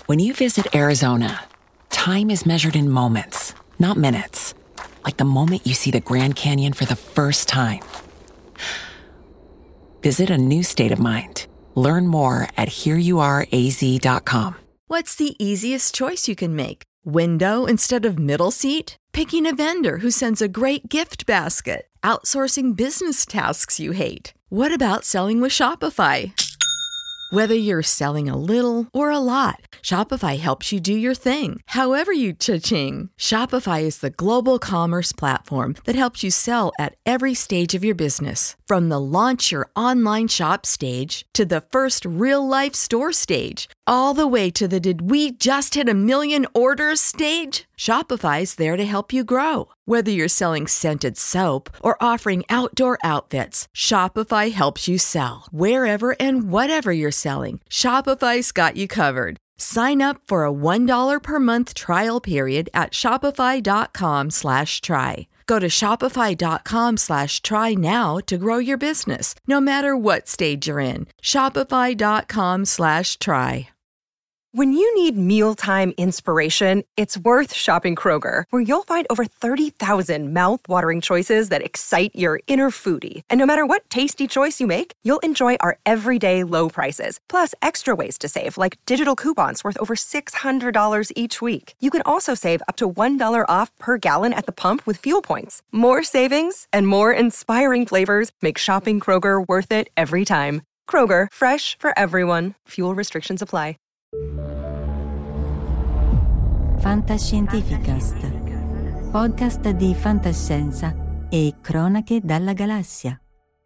When you visit Arizona, time is measured in moments, not minutes. Like the moment you see the Grand Canyon for the first time. Visit a new state of mind. Learn more at hereyouareaz.com. What's the easiest choice you can make? Window instead of middle seat? Picking a vendor who sends a great gift basket? Outsourcing business tasks you hate? What about selling with Shopify? Whether you're selling a little or a lot, Shopify helps you do your thing, however you cha-ching. Shopify is the global commerce platform that helps you sell at every stage of your business. From the launch your online shop stage to the first real-life store stage, all the way to the did we just hit a million orders stage? Shopify's there to help you grow. Whether you're selling scented soap or offering outdoor outfits, Shopify helps you sell. Wherever and whatever you're selling, Shopify's got you covered. Sign up for a $1 per month trial period at shopify.com/try. Go to shopify.com/try now to grow your business, no matter what stage you're in. Shopify.com/try. When you need mealtime inspiration, it's worth shopping Kroger, where you'll find over 30,000 mouth-watering choices that excite your inner foodie. And no matter what tasty choice you make, you'll enjoy our everyday low prices, plus extra ways to save, like digital coupons worth over $600 each week. You can also save up to $1 off per gallon at the pump with fuel points. More savings and more inspiring flavors make shopping Kroger worth it every time. Kroger, fresh for everyone. Fuel restrictions apply. Fantascientificast, podcast di fantascienza e cronache dalla galassia.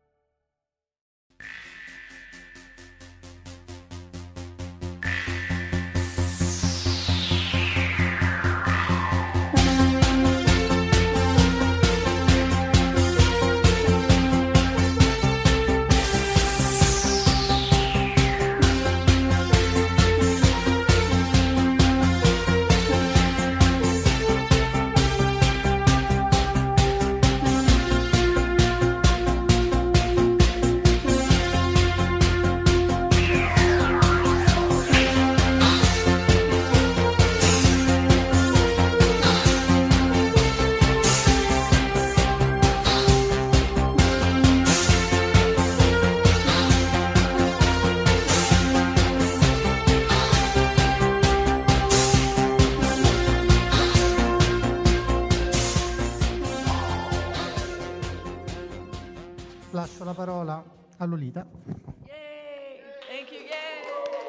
Lascio la parola a Lolita. Yay! Thank you. Yay!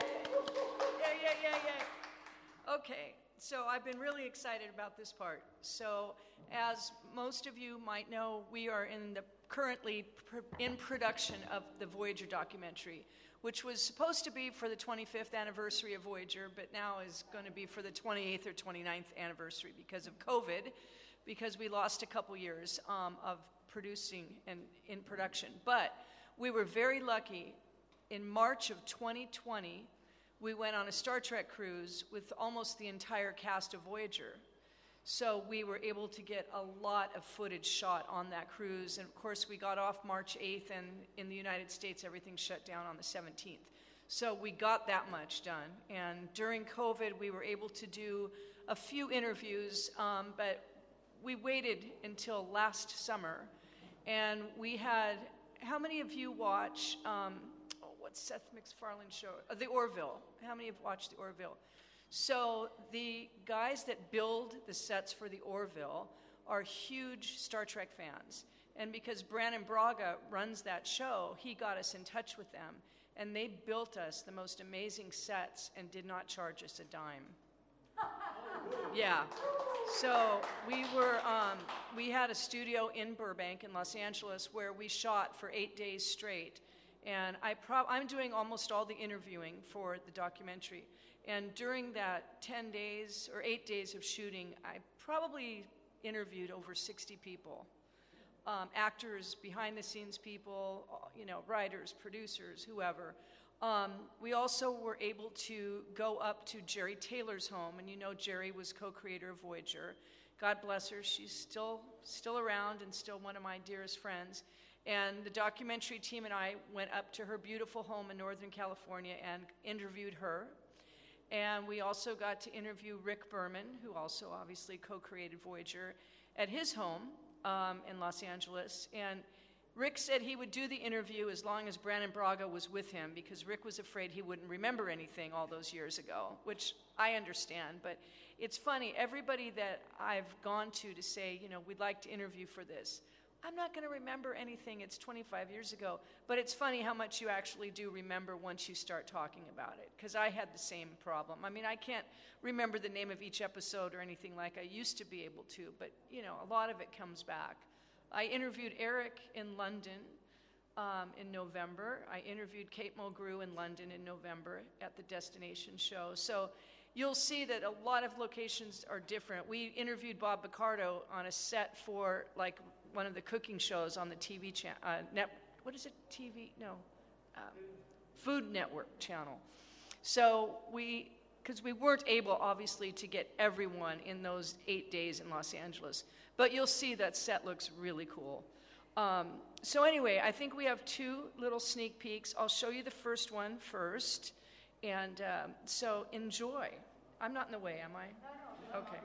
Yay! Okay, so I've been really excited about this part. So, as most of you might know, we are currently in production of the Voyager documentary, which was supposed to be for the 25th anniversary of Voyager, but now is going to be for the 28th or 29th anniversary because of COVID, because we lost a couple years of producing and in production. But we were very lucky. In March of 2020, we went on a Star Trek cruise with almost the entire cast of Voyager. So we were able to get a lot of footage shot on that cruise. And of course, we got off March 8th, and in the United States, everything shut down on the 17th. So we got that much done. And during COVID, we were able to do a few interviews, but we waited until last summer. And we had, how many of you watch, what's Seth MacFarlane's show? The Orville. How many have watched The Orville? So the guys that build the sets for The Orville are huge Star Trek fans. And because Brannon Braga runs that show, he got us in touch with them. And they built us the most amazing sets and did not charge us a dime. Yeah. So we had a studio in Burbank in Los Angeles where we shot for 8 days straight. And I'm doing almost all the interviewing for the documentary. And during that 10 days or 8 days of shooting, I probably interviewed over 60 people. Actors, behind-the-scenes people, writers, producers, whoever. We also were able to go up to Jerry Taylor's home, and Jerry was co-creator of Voyager. God bless her, she's still around and still one of my dearest friends. And the documentary team and I went up to her beautiful home in Northern California and interviewed her. And we also got to interview Rick Berman, who also obviously co-created Voyager, at his home in Los Angeles. And Rick said he would do the interview as long as Brannon Braga was with him, because Rick was afraid he wouldn't remember anything all those years ago, which I understand. But it's funny, everybody that I've gone to say, we'd like to interview for this, I'm not going to remember anything. It's 25 years ago. But it's funny how much you actually do remember once you start talking about it, because I had the same problem. I mean, I can't remember the name of each episode or anything like I used to be able to, but, a lot of it comes back. I interviewed Eric in London in November. I interviewed Kate Mulgrew in London in November at the Destination show. So you'll see that a lot of locations are different. We interviewed Bob Picardo on a set for one of the cooking shows on the TV channel. What is it? TV? No. Food Network channel. So because we weren't able, obviously, to get everyone in those 8 days in Los Angeles. But you'll see that set looks really cool. So anyway, I think we have 2 little sneak peeks. I'll show you the first one first. And so enjoy. I'm not in the way, am I? No. Okay.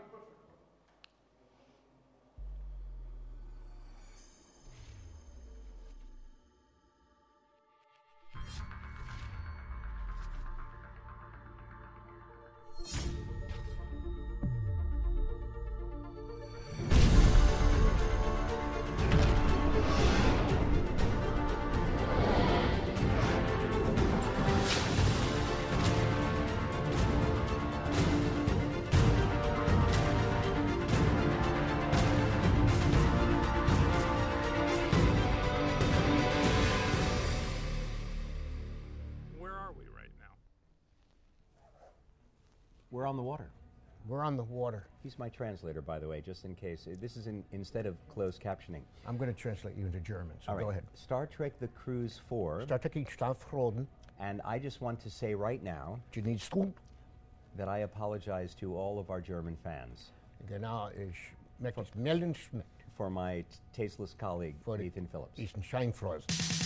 We're on the water. We're on the water. He's my translator, by the way, just in case. This is instead of closed captioning. I'm going to translate you into German, so go ahead. Star Trek The Cruise 4. Star Trek Staffroden. And I just want to say right now that I apologize to all of our German fans. Genau, ich möchte es melden for my tasteless colleague, Ethan Phillips. Ethan Scheinfrost.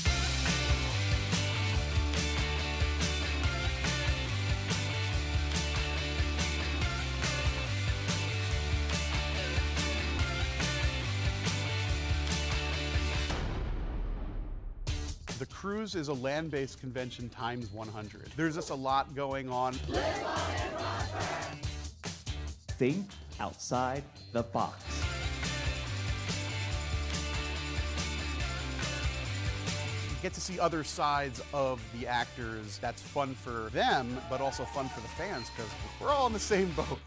The Cruise is a land-based convention times 100. There's just a lot going on. Think outside the box. You get to see other sides of the actors. That's fun for them, but also fun for the fans, because we're all in the same boat.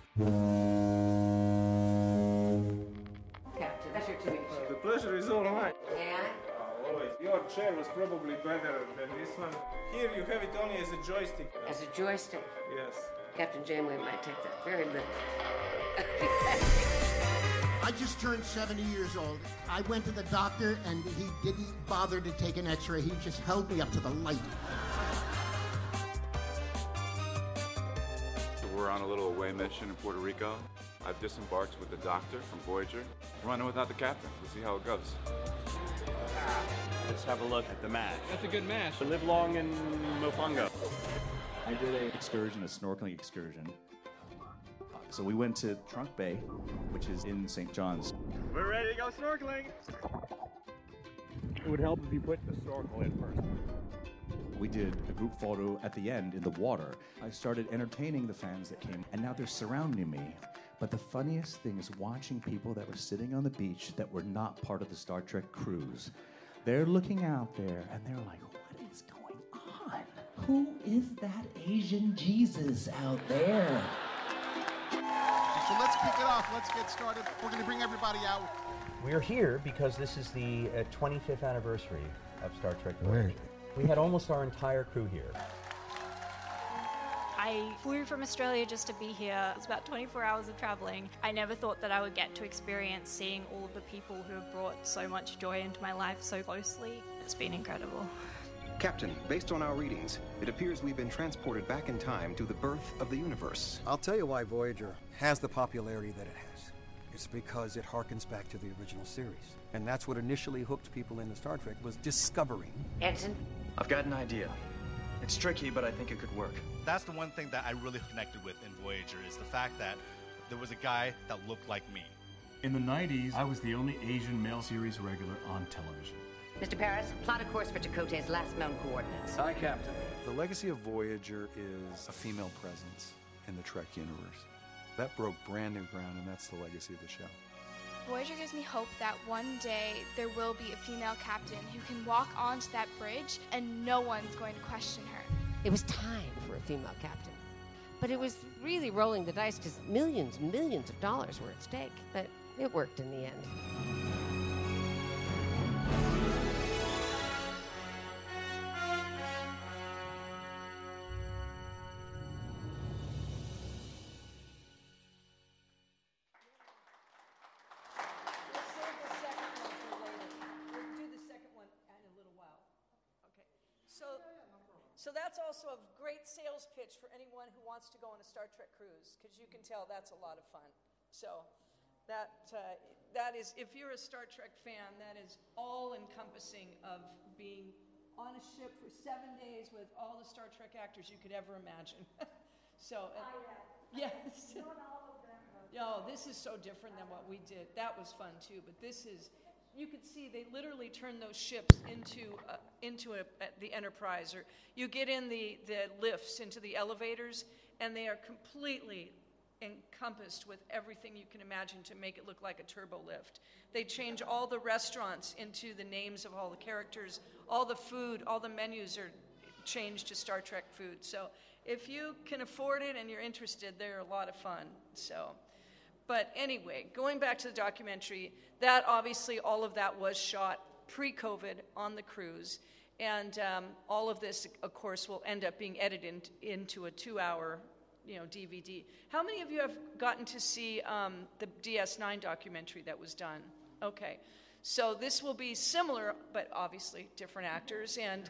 Captain, pleasure to meet you. The pleasure is all mine. May I? Always. Your chair was probably better than this one. Here you have it only as a joystick. As a joystick? Yes. Captain Janeway might take that very literally. I just turned 70 years old. I went to the doctor and he didn't bother to take an x-ray. He just held me up to the light. We're on a little away mission in Puerto Rico. I've disembarked with the doctor from Voyager. Running without the captain. We'll see how it goes. Let's have a look at the match. That's a good match. So live long in Mofongo. I did an excursion, a snorkeling excursion. So we went to Trunk Bay, which is in St. John's. We're ready to go snorkeling. It would help if you put the snorkel in first. We did a group photo at the end in the water. I started entertaining the fans that came, and now they're surrounding me. But the funniest thing is watching people that were sitting on the beach that were not part of the Star Trek cruise. They're looking out there, and they're like, what is going on? Who is that Asian Jesus out there? So let's kick it off. Let's get started. We're going to bring everybody out. We're here because this is the 25th anniversary of Star Trek Voyager. We had almost our entire crew here. I flew from Australia just to be here. It's about 24 hours of traveling. I never thought that I would get to experience seeing all of the people who have brought so much joy into my life so closely. It's been incredible. Captain, based on our readings, it appears we've been transported back in time to the birth of the universe. I'll tell you why Voyager has the popularity that it has. It's because it harkens back to the original series. And that's what initially hooked people into Star Trek, was discovering. Ensign? I've got an idea. It's tricky, but I think it could work. That's the one thing that I really connected with in Voyager is the fact that there was a guy that looked like me. In the 90s, I was the only Asian male series regular on television. Mr. Paris, plot a course for Chakotay's last known coordinates. Aye, Captain. The legacy of Voyager is a female presence in the Trek universe. That broke brand new ground, and that's the legacy of the show. Voyager gives me hope that one day there will be a female captain who can walk onto that bridge and no one's going to question her. It was time for a female captain. But it was really rolling the dice because millions and millions of dollars were at stake. But it worked in the end. So that's also a great sales pitch for anyone who wants to go on a Star Trek cruise, because you can tell that's a lot of fun. So that is, if you're a Star Trek fan, that is all-encompassing of being on a ship for 7 days with all the Star Trek actors you could ever imagine. So, yes. Not all of them. No, this is so different than what we did. That was fun too, but this is. You could see they literally turned those ships into the Enterprise, or you get in the lifts into the elevators, and they are completely encompassed with everything you can imagine to make it look like a turbo lift. They change all the restaurants into the names of all the characters, all the food, all the menus are changed to Star Trek food. So if you can afford it and you're interested, they're a lot of fun. So. But anyway, going back to the documentary, that obviously all of that was shot pre-COVID on the cruise, and all of this, of course, will end up being edited into a 2-hour, DVD. How many of you have gotten to see the DS9 documentary that was done? Okay, so this will be similar, but obviously different actors, and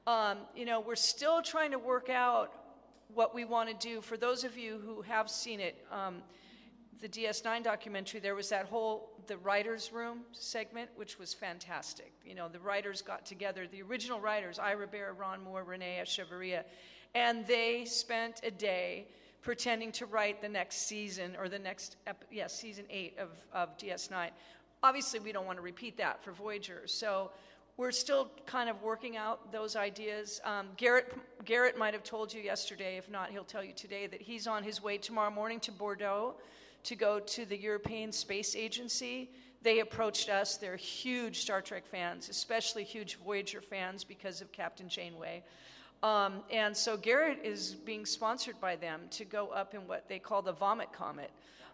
we're still trying to work out what we want to do. For those of you who have seen it. The DS9 documentary, there was the writer's room segment, which was fantastic. The writers got together, the original writers, Ira Behr, Ron Moore, Renee Echevarria, and they spent a day pretending to write the next season, or season 8 of DS9. Obviously, we don't want to repeat that for Voyager, so we're still kind of working out those ideas. Garrett might have told you yesterday, if not, he'll tell you today, that he's on his way tomorrow morning to Bordeaux to go to the European Space Agency. They approached us. They're huge Star Trek fans, especially huge Voyager fans because of Captain Janeway. And so Garrett is being sponsored by them to go up in what they call the Vomit Comet.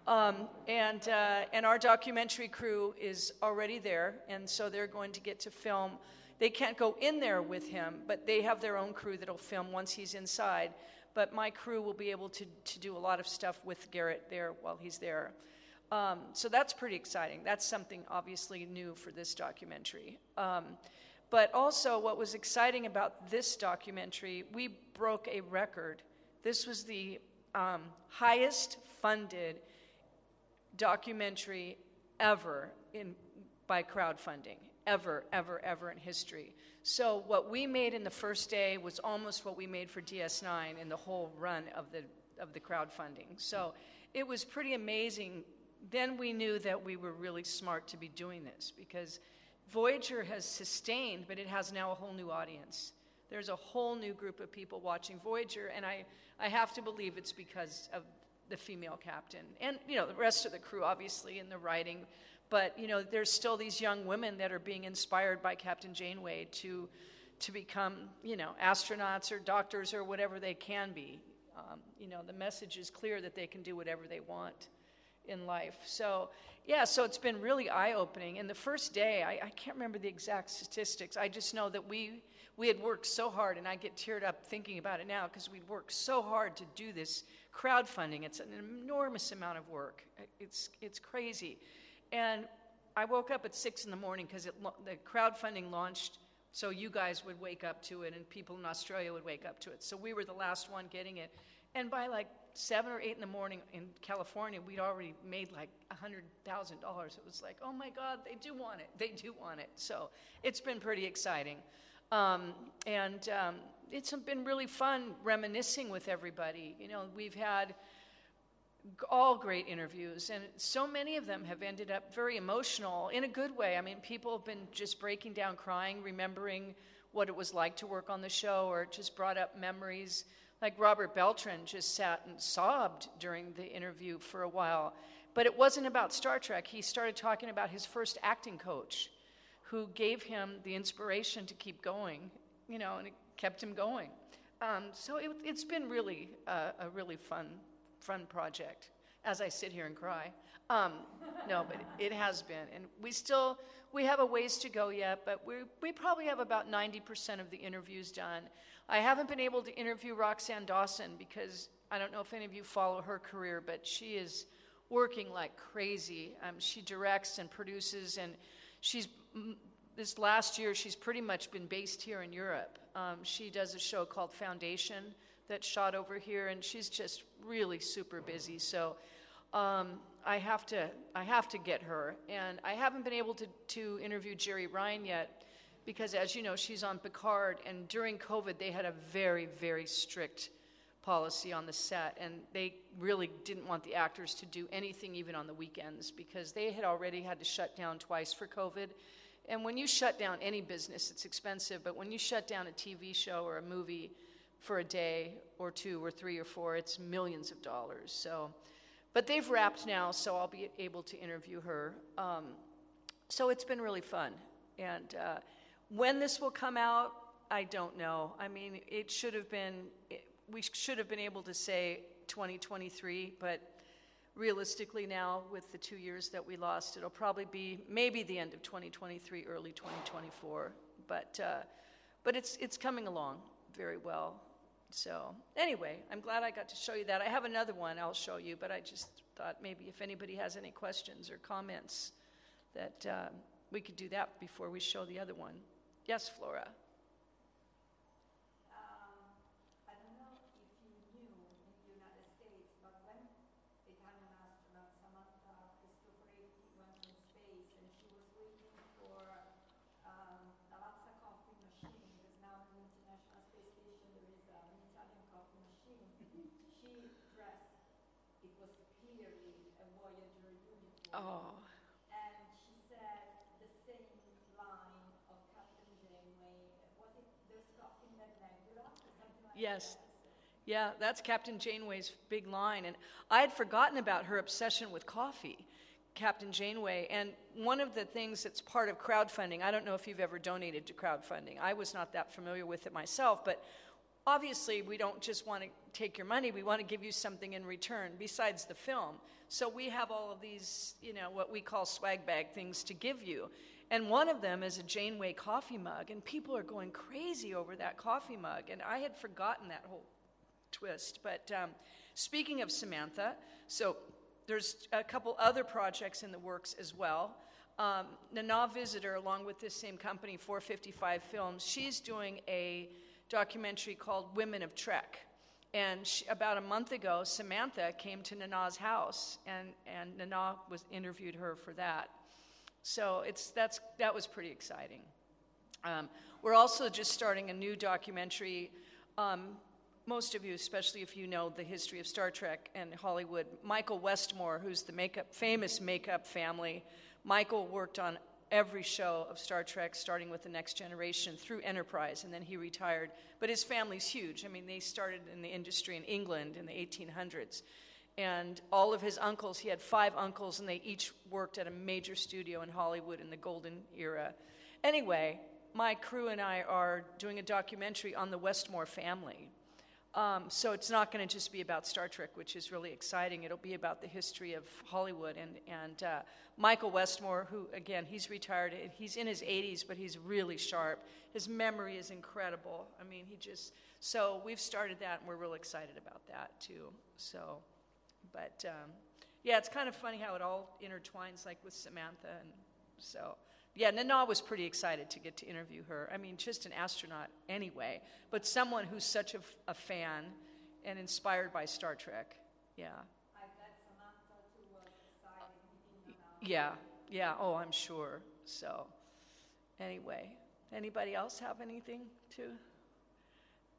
And our documentary crew is already there, and so they're going to get to film. They can't go in there with him, but they have their own crew that'll film once he's inside. But my crew will be able to do a lot of stuff with Garrett there while he's there. So that's pretty exciting. That's something obviously new for this documentary. But also what was exciting about this documentary, we broke a record. This was the highest funded documentary ever by crowdfunding, ever in history. So what we made in the first day was almost what we made for DS9 in the whole run of the crowdfunding. So it was pretty amazing. Then we knew that we were really smart to be doing this, because Voyager has sustained, but it has now a whole new audience. There's a whole new group of people watching Voyager, and I have to believe it's because of the female captain. And, the rest of the crew, obviously, in the writing. But, there's still these young women that are being inspired by Captain Janeway to become, astronauts or doctors or whatever they can be. The message is clear that they can do whatever they want in life. So, so it's been really eye-opening. And the first day, I can't remember the exact statistics. I just know that we had worked so hard, and I get teared up thinking about it now, because we'd worked so hard to do this crowdfunding. It's an enormous amount of work. It's crazy. And I woke up at 6 in the morning because the crowdfunding launched, so you guys would wake up to it and people in Australia would wake up to it. So we were the last one getting it. And by like 7 or 8 in the morning in California, we'd already made like $100,000. It was like, oh my God, they do want it. They do want it. So it's been pretty exciting. it's been really fun reminiscing with everybody. You know, we've had all great interviews, and so many of them have ended up very emotional in a good way. I mean, people have been just breaking down, crying, remembering what it was like to work on the show, or it just brought up memories. Like Robert Beltran just sat and sobbed during the interview for a while. But it wasn't about Star Trek. He started talking about his first acting coach, who gave him the inspiration to keep going, you know, and it kept him going. So it's been really a really fun project, as I sit here and cry. No, but it has been. And we have a ways to go yet, but we probably have about 90% of the interviews done. I haven't been able to interview Roxann Dawson because I don't know if any of you follow her career, but she is working like crazy. She directs and produces, and this last year she's pretty much been based here in Europe. She does a show called Foundation that's shot over here, and she's just really super busy. So I have to get her, and I haven't been able to interview Jeri Ryan yet because, as you know, she's on Picard, and during COVID they had a very, very strict policy on the set, and they really didn't want the actors to do anything even on the weekends because they had already had to shut down twice for COVID. And when you shut down any business, it's expensive, but when you shut down a TV show or a movie for a day or two or three or four, it's millions of dollars. So, but they've wrapped now, so I'll be able to interview her. So it's been really fun. And when this will come out, I don't know. I mean, we should have been able to say 2023, but realistically now, with the 2 years that we lost, it'll probably be maybe the end of 2023, early 2024. But it's coming along very well. So anyway, I'm glad I got to show you that. I have another one I'll show you, but I just thought maybe if anybody has any questions or comments that we could do that before we show the other one. Yes, Flora. Oh. And she said the same line of Captain Janeway. Was it "There's coffee in that nebula"? Yes. Yeah, that's Captain Janeway's big line. And I had forgotten about her obsession with coffee, Captain Janeway. And one of the things that's part of crowdfunding, I don't know if you've ever donated to crowdfunding. I was not that familiar with it myself, but obviously we don't just want to take your money, we want to give you something in return besides the film. So we have all of these, you know, what we call swag bag things to give you. And one of them is a Janeway coffee mug, and people are going crazy over that coffee mug. And I had forgotten that whole twist. But speaking of Samantha, so there's a couple other projects in the works as well. Nana Visitor, along with this same company, 455 Films, she's doing a documentary called Women of Trek. And about a month ago, Samantha came to Nana's house, and Nana interviewed her for that. So that was pretty exciting. We're also just starting a new documentary. Most of you, especially if you know the history of Star Trek and Hollywood, Michael Westmore, who's the famous makeup family. Michael worked on every show of Star Trek, starting with The Next Generation through Enterprise, and then he retired. But his family's huge. I mean, they started in the industry in England in the 1800s. And all of his uncles, he had 5 uncles, and they each worked at a major studio in Hollywood in the golden era. Anyway, my crew and I are doing a documentary on the Westmore family. So it's not going to just be about Star Trek, which is really exciting. It'll be about the history of Hollywood. And Michael Westmore, who, again, he's retired. He's in his 80s, but he's really sharp. His memory is incredible. I mean, so we've started that, and we're real excited about that, too. So, but, yeah, it's kind of funny how it all intertwines, like with Samantha. And so, yeah, Nana was pretty excited to get to interview her. I mean, just an astronaut anyway, but someone who's such a fan and inspired by Star Trek. Yeah. I bet Samantha too was excited. Yeah. Oh, I'm sure. So, anyway, anybody else have anything to?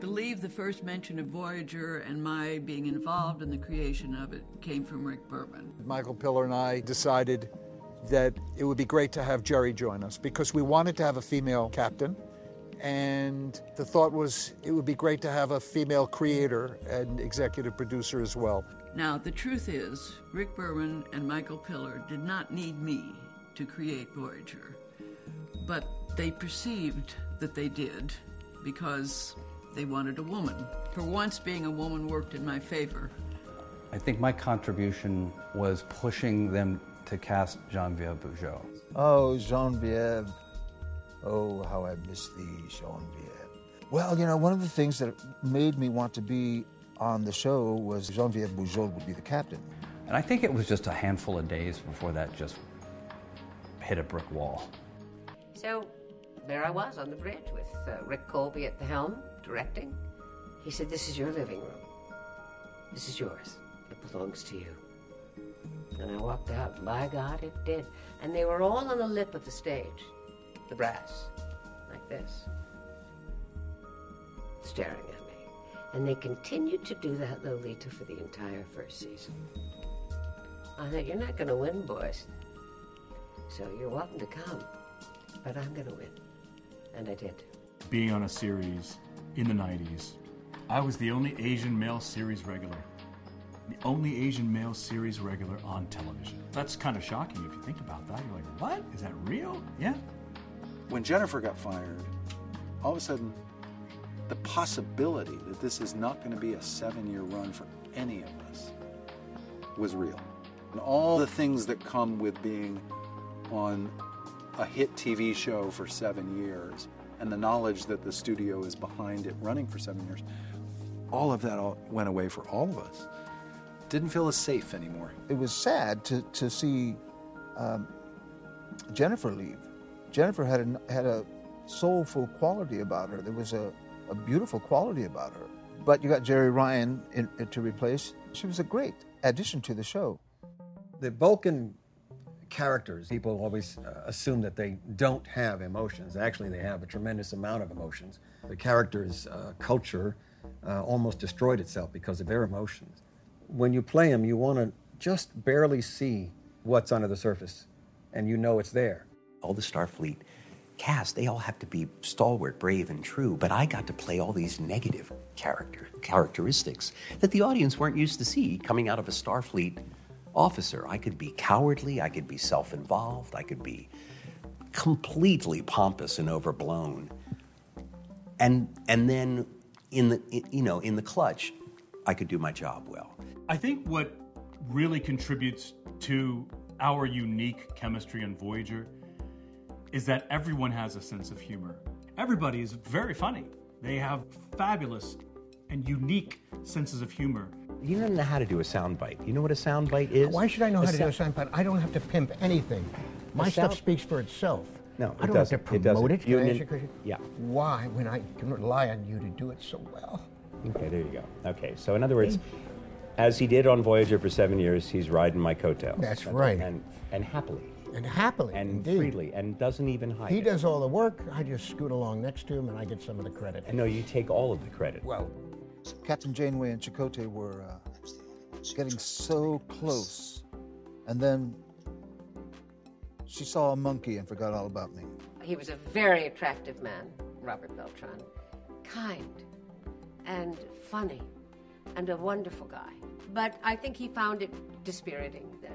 believe the first mention of Voyager and my being involved in the creation of it came from Rick Berman. Michael Piller and I decided that it would be great to have Jerry join us because we wanted to have a female captain, and the thought was it would be great to have a female creator and executive producer as well. Now, the truth is, Rick Berman and Michael Piller did not need me to create Voyager, but they perceived that they did because they wanted a woman. For once, being a woman worked in my favor. I think my contribution was pushing them to cast Geneviève Bujold. Oh, Geneviève. Oh, how I miss thee, Geneviève. Well, you know, one of the things that made me want to be on the show was Geneviève Bujold would be the captain. And I think it was just a handful of days before that just hit a brick wall. So there I was on the bridge with Rick Colby at the helm, directing. He said, "This is your living room. This is yours. It belongs to you." And I walked out, and by God, it did. And they were all on the lip of the stage, the brass, like this, staring at me. And they continued to do that, Lolita, for the entire first season. I thought, you're not going to win, boys. So you're welcome to come, but I'm going to win. And I did. Being on a series in the 90s, I was the only Asian male series regular. The only Asian male series regular on television. That's kind of shocking if you think about that. You're like, what? Is that real? Yeah. When Jennifer got fired, all of a sudden, the possibility that this is not going to be a 7-year run for any of us was real. And all the things that come with being on a hit TV show for 7 years and the knowledge that the studio is behind it running for 7 years, all of that went away for all of us. Didn't feel as safe anymore. It was sad to see Jennifer leave. Jennifer had a soulful quality about her. There was a beautiful quality about her. But you got Jerry Ryan to replace. She was a great addition to the show. The Vulcan characters, people always assume that they don't have emotions. Actually, they have a tremendous amount of emotions. The character's culture almost destroyed itself because of their emotions. When you play them, you want to just barely see what's under the surface, and you know it's there. All the Starfleet cast, they all have to be stalwart, brave, and true, but I got to play all these negative characteristics that the audience weren't used to see coming out of a Starfleet officer. I could be cowardly, I could be self-involved, I could be completely pompous and overblown. And then in the clutch, I could do my job well. I think what really contributes to our unique chemistry on Voyager is that everyone has a sense of humor. Everybody is very funny. They have fabulous and unique senses of humor. You don't know how to do a soundbite. You know what a soundbite is? Why should I know how to do a soundbite? I don't have to pimp anything. My stuff speaks for itself. No, I don't have to promote it. Can I ask you a question? Yeah. Why, when I can rely on you to do it so well? Okay, there you go. Okay, so in other words, as he did on Voyager for 7 years, he's riding my coattails. That's right. And happily. And happily, and indeed. freely, and doesn't even hide He it. does all the work. I just scoot along next to him, and I get some of the credit. And no, you take all of the credit. Well, Captain Janeway and Chakotay were getting so close, and then she saw a monkey and forgot all about me. He was a very attractive man, Robert Beltran. Kind and funny and a wonderful guy. But I think he found it dispiriting that,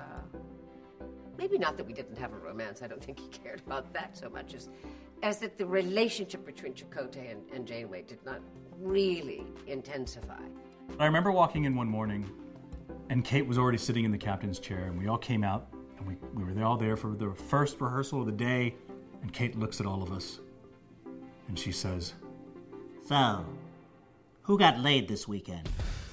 maybe not that we didn't have a romance, I don't think he cared about that so much, as that the relationship between Chakotay and Janeway did not really intensify. I remember walking in one morning, and Kate was already sitting in the captain's chair, and we all came out, and we were all there for the first rehearsal of the day, and Kate looks at all of us, and she says, "So, who got laid this weekend?"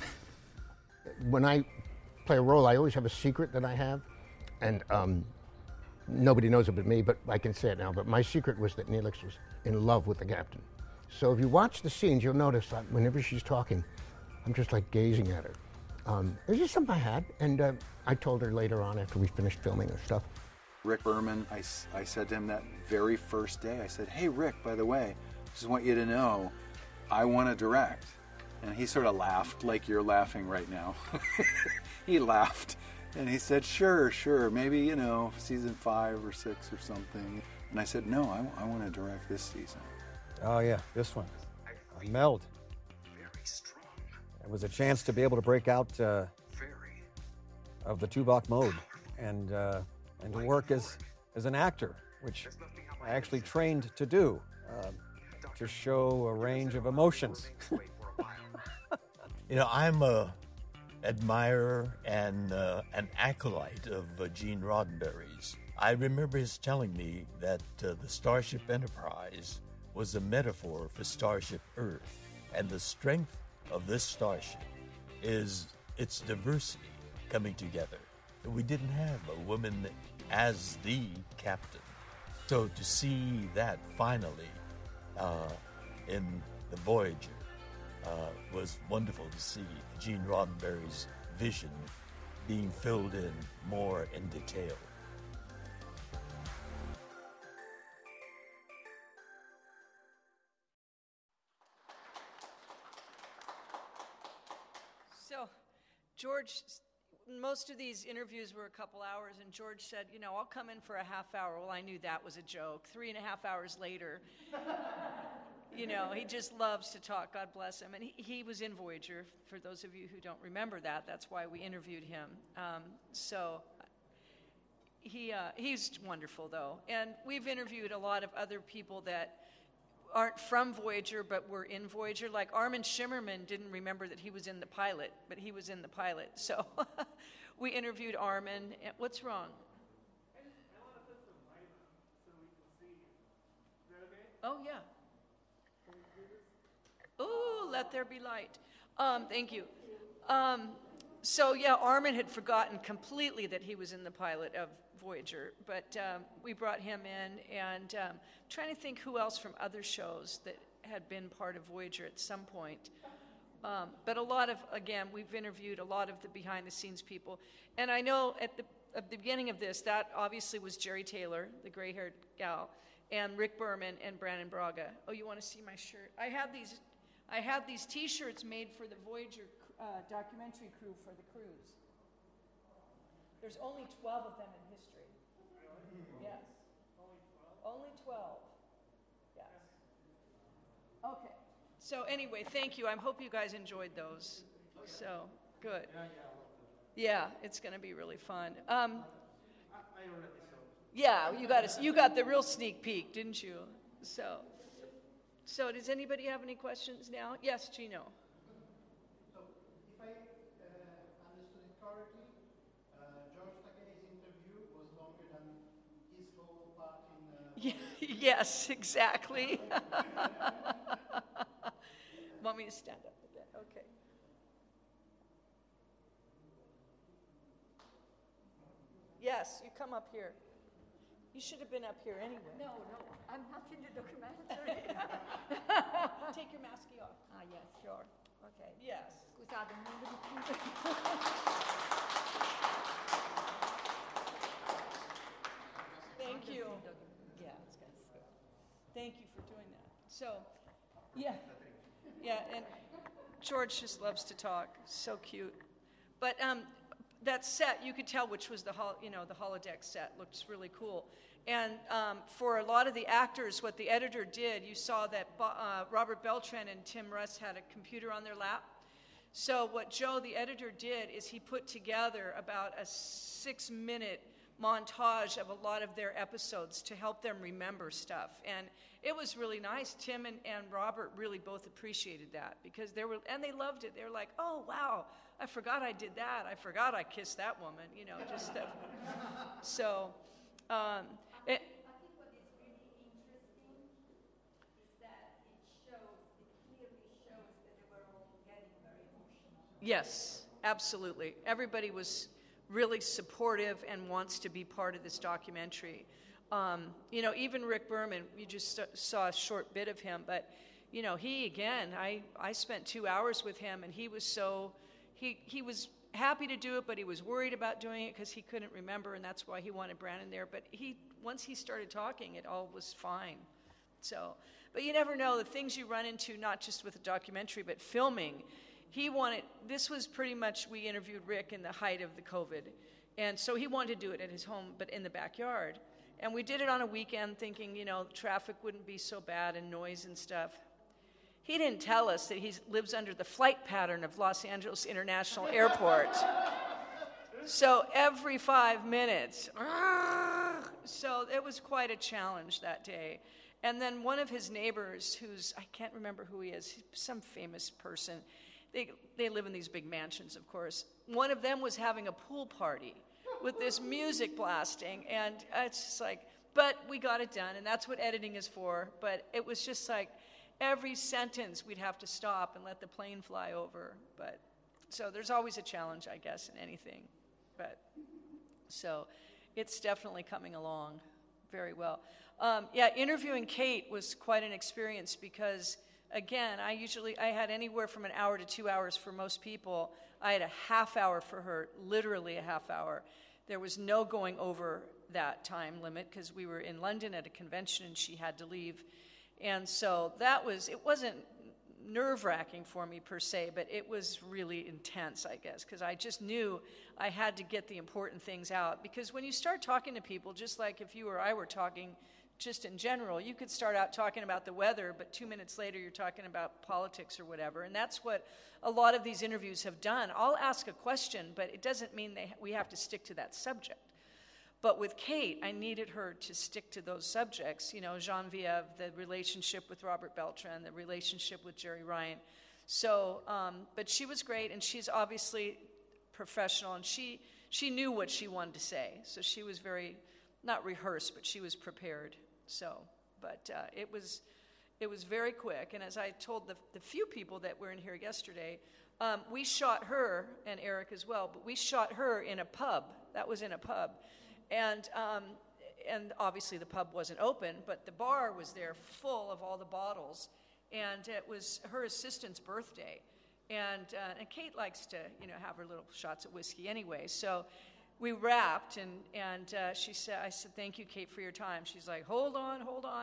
when I play a role, I always have a secret that I have, and nobody knows it but me, but I can say it now. But my secret was that Neelix was in love with the captain. So if you watch the scenes, you'll notice that whenever she's talking, I'm just like gazing at her. It was just something I had, and I told her later on after we finished filming and stuff. Rick Berman, I said to him that very first day, I said, "Hey, Rick, by the way, just want you to know I want to direct. And he sort of laughed like you're laughing right now. He laughed and he said, sure, maybe, season 5 or 6 or something. And I said, no, I want to direct this season. Oh, yeah, this one. Meld. It was a chance to be able to break out of the Tuvok mode and to work as an actor, which I actually trained to do, to show a range of emotions. I'm a admirer and an acolyte of Gene Roddenberry's. I remember his telling me that the Starship Enterprise was a metaphor for Starship Earth, and the strength of this starship is its diversity coming together. We didn't have a woman as the captain. So to see that finally in the Voyager was wonderful to see Gene Roddenberry's vision being filled in more in detail. So, George, most of these interviews were a couple hours, and George said, I'll come in for a half hour. Well, I knew that was a joke. 3.5 hours later, he just loves to talk. God bless him. And he was in Voyager. For those of you who don't remember that, that's why we interviewed him. He's wonderful, though. And we've interviewed a lot of other people that aren't from Voyager but were in Voyager. Like Armin Shimmerman didn't remember that he was in the pilot, but he was in the pilot. So we interviewed Armin. What's wrong? I want to put some light on so we can see you. Is that okay? Oh, yeah. Oh, let there be light. Thank you. Armin had forgotten completely that he was in the pilot of Voyager, but we brought him in, and trying to think who else from other shows that had been part of Voyager at some point. But a lot of, again, we've interviewed a lot of the behind-the-scenes people. And I know at the beginning of this, that obviously was Jerry Taylor, the gray-haired gal, and Rick Berman and Brannon Braga. Oh, you want to see my shirt? I had these T-shirts made for the Voyager documentary crew for the cruise. There's only 12 of them in history. Yes. Only 12. Yes. Okay. So anyway, thank you. I hope you guys enjoyed those. So, good. Yeah, it's going to be really fun. Yeah, you got the real sneak peek, didn't you? So does anybody have any questions now? Yes, Gino. So, if I understood it correctly, George Takei's interview was longer than his whole part in... Yes, exactly. Want me to stand up a bit? Okay. Yes, you come up here. You should have been up here anyway. No, I'm not in the documentary. Take your mask off. Ah, yes, sure. Okay. Yes. Scusate, non vedo più. Thank you. Yeah, it's good. Thank you for doing that. So, yeah, and George just loves to talk. So cute. But that set, you could tell which was the holodeck set. Looks really cool. And for a lot of the actors, what the editor did, you saw that Robert Beltran and Tim Russ had a computer on their lap. So what Joe, the editor, did is he put together about a 6-minute montage of a lot of their episodes to help them remember stuff. And it was really nice. Tim and Robert really both appreciated that because they loved it. They were like, oh, wow, I forgot I did that. I forgot I kissed that woman, just stuff. So, I think what is really interesting is that it clearly shows that they were all getting very emotional. Yes, absolutely. Everybody was really supportive and wants to be part of this documentary. Even Rick Berman, you just saw a short bit of him, but, I spent 2 hours with him, and he was he was happy to do it, but he was worried about doing it because he couldn't remember, and that's why he wanted Brannon there. But once he started talking, it all was fine. So, but you never know the things you run into, not just with a documentary, but filming. This was pretty much, we interviewed Rick in the height of the COVID. And so he wanted to do it at his home, but in the backyard. And we did it on a weekend thinking, traffic wouldn't be so bad and noise and stuff. He didn't tell us that he lives under the flight pattern of Los Angeles International Airport. So every 5 minutes, so it was quite a challenge that day. And then one of his neighbors, I can't remember who he is, he's some famous person. They live in these big mansions, of course. One of them was having a pool party with this music blasting, and it's just like, but we got it done, and that's what editing is for. But it was just like every sentence we'd have to stop and let the plane fly over. But so there's always a challenge, I guess, in anything. But so it's definitely coming along very well. Interviewing Kate was quite an experience because, again, I had anywhere from an hour to 2 hours for most people. I had a half hour for her, literally a half hour. There was no going over that time limit because we were in London at a convention and she had to leave. And so it wasn't nerve-wracking for me per se, but it was really intense, I guess, because I just knew I had to get the important things out. Because when you start talking to people, just like if you or I were talking just in general, you could start out talking about the weather, but 2 minutes later you're talking about politics or whatever. And that's what a lot of these interviews have done. I'll ask a question, but it doesn't mean we have to stick to that subject. But with Kate, I needed her to stick to those subjects, Genevieve, the relationship with Robert Beltran, the relationship with Jerry Ryan. So, but she was great, and she's obviously professional, and she knew what she wanted to say. So she was very, not rehearsed, but she was prepared. So, but it was very quick. And as I told the few people that were in here yesterday, we shot her, and Eric as well, but we shot her in a pub. That was in a pub. And obviously the pub wasn't open, but the bar was there full of all the bottles. And it was her assistant's birthday. And Kate likes to, have her little shots of whiskey anyway. So we wrapped, and I said, thank you, Kate, for your time. She's like, hold on.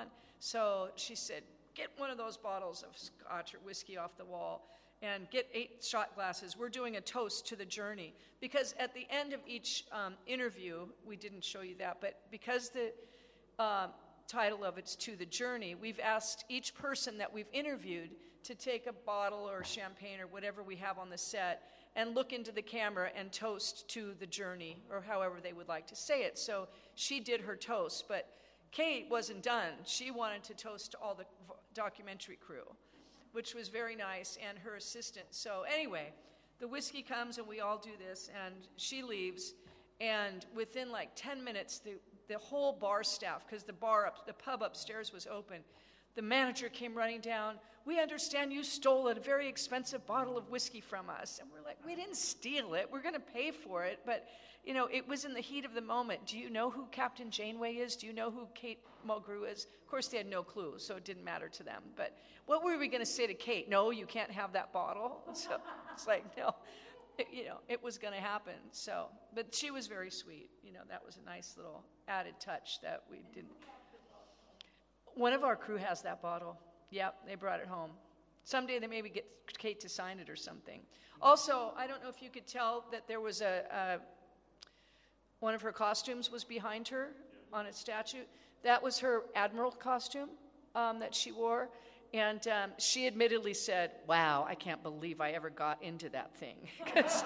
So she said, get one of those bottles of scotch or whiskey off the wall and get 8 shot glasses. We're doing a toast to the journey. Because at the end of each interview, we didn't show you that, but because the title of it's To the Journey, we've asked each person that we've interviewed to take a bottle or champagne or whatever we have on the set and look into the camera and toast to the journey, or however they would like to say it. So she did her toast, but Kate wasn't done. She wanted to toast all the documentary crew, which was very nice, and her assistant. So anyway, the whiskey comes and we all do this, and she leaves, and within like 10 minutes, the whole bar staff, because the pub upstairs was open, the manager came running down. We understand you stole a very expensive bottle of whiskey from us. And we're like, we didn't steal it. We're going to pay for it. But, it was in the heat of the moment. Do you know who Captain Janeway is? Do you know who Kate Mulgrew is? Of course, they had no clue, so it didn't matter to them. But what were we going to say to Kate? No, you can't have that bottle. So it's like, no, it was going to happen. So, but she was very sweet. That was a nice little added touch that we didn't. One of our crew has that bottle. Yep, they brought it home. Someday they maybe get Kate to sign it or something. Also, I don't know if you could tell that there was one of her costumes was behind her on a statue. That was her admiral costume that she wore. And she admittedly said, wow, I can't believe I ever got into that thing. Because,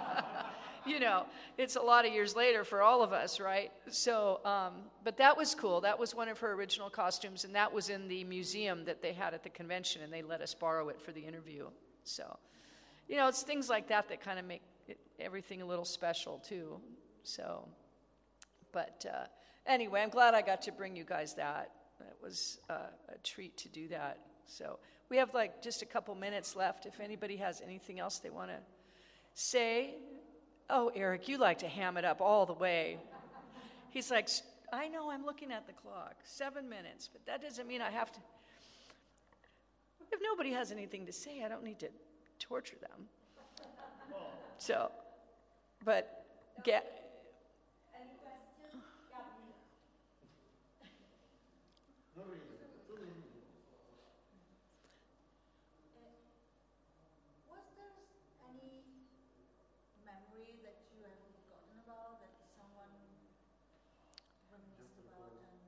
it's a lot of years later for all of us, right? So, but that was cool. That was one of her original costumes, and that was in the museum that they had at the convention, and they let us borrow it for the interview. So, it's things like that that kind of make everything a little special, too. So, but anyway, I'm glad I got to bring you guys that. It was a treat to do that. So we have just a couple minutes left. If anybody has anything else they want to say. Oh, Eric, you like to ham it up all the way. He's like, I know, I'm looking at the clock. 7 minutes, but that doesn't mean I have to. If nobody has anything to say, I don't need to torture them. So, but get.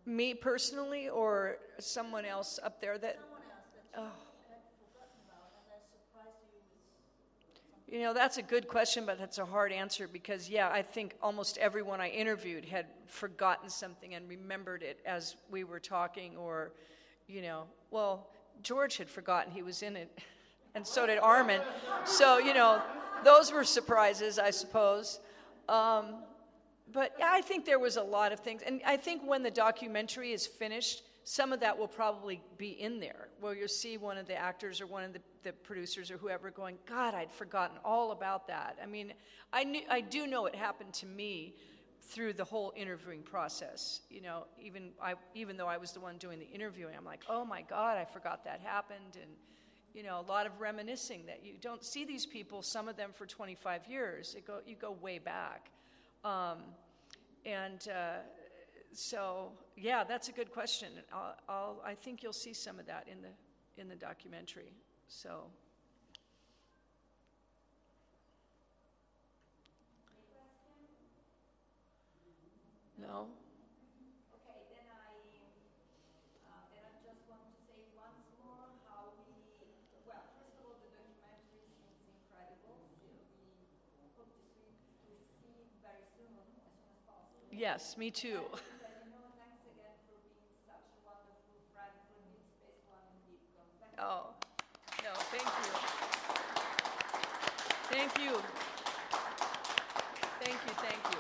Me personally, or someone else up there that? Oh. You know, that's a good question, but that's a hard answer because, yeah, I think almost everyone I interviewed had forgotten something and remembered it as we were talking, or, you know, well, George had forgotten he was in it, and so did Armin. So, you know, those were surprises, I suppose. But yeah, I think there was a lot of things. And I think when the documentary is finished, some of that will probably be in there, where you'll see one of the actors or one of the producers or whoever going, God, I'd forgotten all about that. I mean, I do know it happened to me through the whole interviewing process. You know, even though I was the one doing the interviewing, I'm like, oh my God, I forgot that happened. And, you know, a lot of reminiscing that you don't see these people, some of them for 25 years. You go way back. So, yeah, that's a good question. I think you'll see some of that in the documentary. So, no. Okay, then I just want to say once more how well, first of all, the documentary seems incredible. We hope to see very soon, as soon as possible. Yes, me too. Thanks again for being such a wonderful friend for Deep Space One and DeepCon. Oh, no, thank you. Thank you. Thank you, thank you.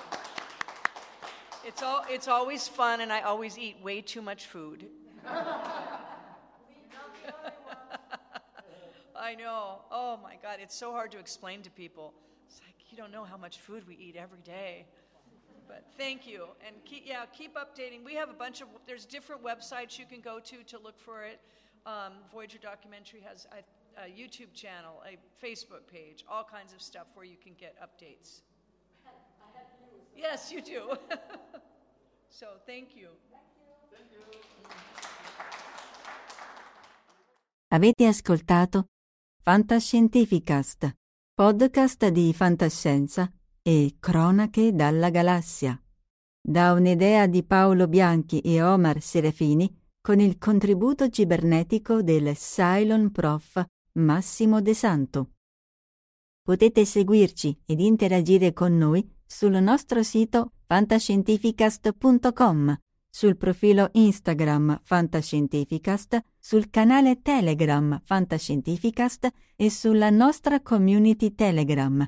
It's always fun, and I always eat way too much food. I know. Oh my God, it's so hard to explain to people. It's like you don't know how much food we eat every day. But thank you, and keep updating. We have there's different websites you can go to look for it. Voyager Documentary has a YouTube channel, a Facebook page, all kinds of stuff where you can get updates. I have you. Yes, you do. So thank you. Thank you. Avete ascoltato Fantascientificast, podcast di fantascienza e cronache dalla galassia, da un'idea di Paolo Bianchi e Omar Serafini con il contributo cibernetico del Cylon Prof Massimo De Santo. Potete seguirci ed interagire con noi sul nostro sito fantascientificast.com, sul profilo Instagram Fantascientificast, sul canale Telegram Fantascientificast e sulla nostra community Telegram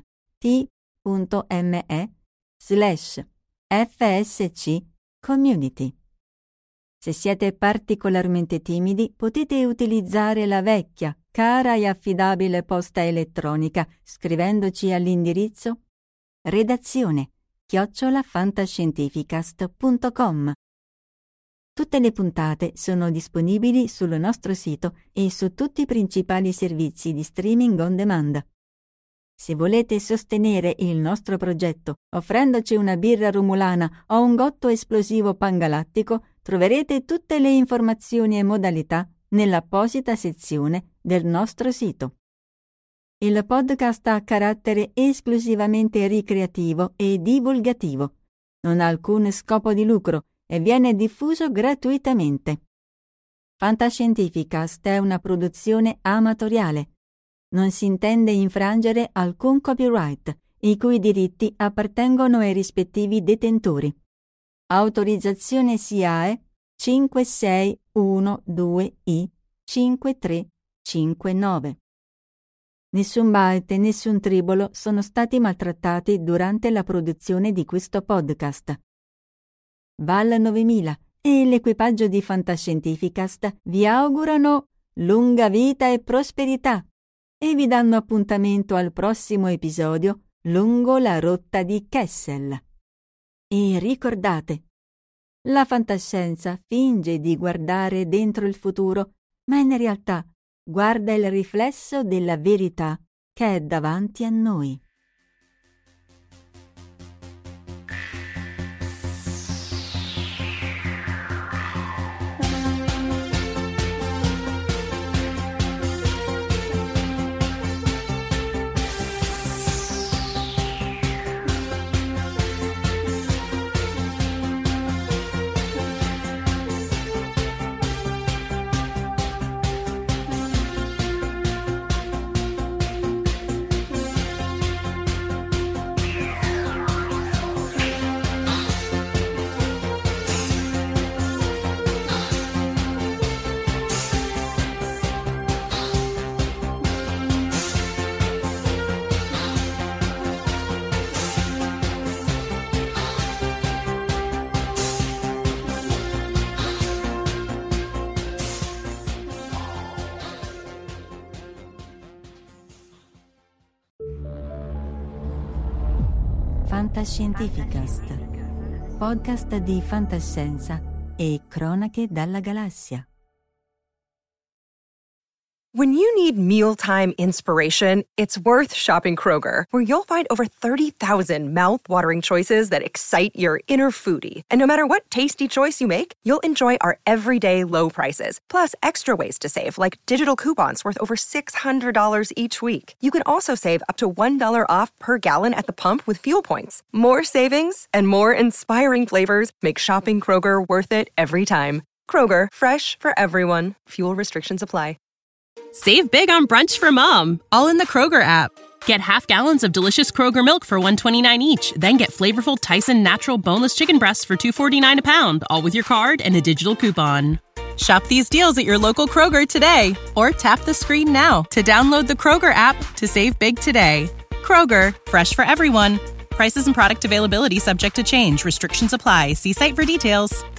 t.me/FSC Community. Se siete particolarmente timidi, potete utilizzare la vecchia, cara e affidabile posta elettronica scrivendoci all'indirizzo redazione@fantascientificast.com. Tutte le puntate sono disponibili sul nostro sito e su tutti i principali servizi di streaming on demand. Se volete sostenere il nostro progetto offrendoci una birra romulana o un gotto esplosivo pangalattico, troverete tutte le informazioni e modalità nell'apposita sezione del nostro sito. Il podcast ha carattere esclusivamente ricreativo e divulgativo. Non ha alcun scopo di lucro e viene diffuso gratuitamente. Fantascientificast è una produzione amatoriale. Non si intende infrangere alcun copyright, i cui diritti appartengono ai rispettivi detentori. Autorizzazione SIAE 5612I5359. Nessun byte e nessun tribolo sono stati maltrattati durante la produzione di questo podcast. Val 9000 e l'equipaggio di Fantascientificast vi augurano lunga vita e prosperità e vi danno appuntamento al prossimo episodio lungo la rotta di Kessel. E ricordate, la fantascienza finge di guardare dentro il futuro, ma in realtà guarda il riflesso della verità che è davanti a noi. Fantascientificast, podcast di fantascienza e cronache dalla galassia. When you need mealtime inspiration, it's worth shopping Kroger, where you'll find over 30,000 mouth-watering choices that excite your inner foodie. And no matter what tasty choice you make, you'll enjoy our everyday low prices, plus extra ways to save, like digital coupons worth over $600 each week. You can also save up to $1 off per gallon at the pump with fuel points. More savings and more inspiring flavors make shopping Kroger worth it every time. Kroger, fresh for everyone. Fuel restrictions apply. Save big on brunch for mom, all in the Kroger app. Get half gallons of delicious Kroger milk for $1.29 each. Then get flavorful Tyson natural boneless chicken breasts for $2.49 a pound, all with your card and a digital coupon. Shop these deals at your local Kroger today, or tap the screen now to download the Kroger app to save big today. Kroger, fresh for everyone. Prices and product availability subject to change. Restrictions apply. See site for details.